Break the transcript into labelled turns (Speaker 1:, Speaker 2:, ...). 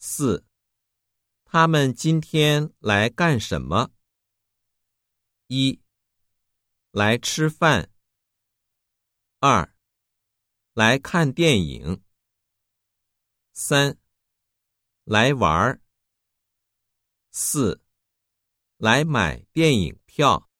Speaker 1: 4. 他们今天来干什么？ 1. 来吃饭。 2. 来看电影。 3. 来玩。 4. 来买电影票。